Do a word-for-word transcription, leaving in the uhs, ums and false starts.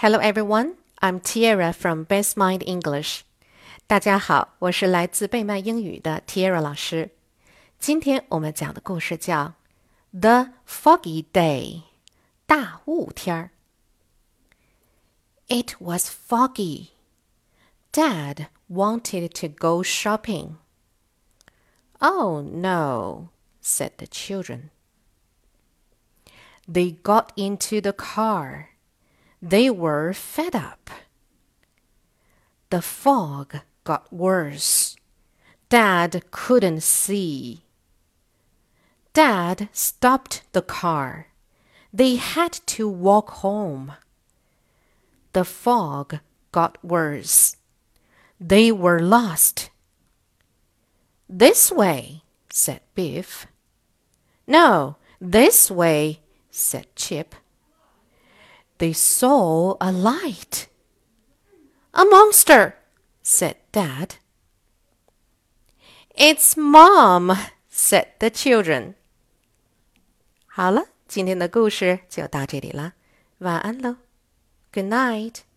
Hello everyone, I'm Tiara from Best Mind English. 大家好，我是来自贝曼英语的 Tiara 老师。今天我们讲的故事叫 The Foggy Day 大雾天儿。It was foggy. Dad wanted to go shopping. Oh no, said the children. They got into the car. They were fed up. The fog got worse. Dad couldn't see. Dad stopped the car. They had to walk home. The fog got worse. They were lost. This way, said Biff. No, this way, said Chip. They saw a light. A monster, said Dad. It's Mom, said the children. 好了，今天的故事就到这里了，晚安喽。Good night.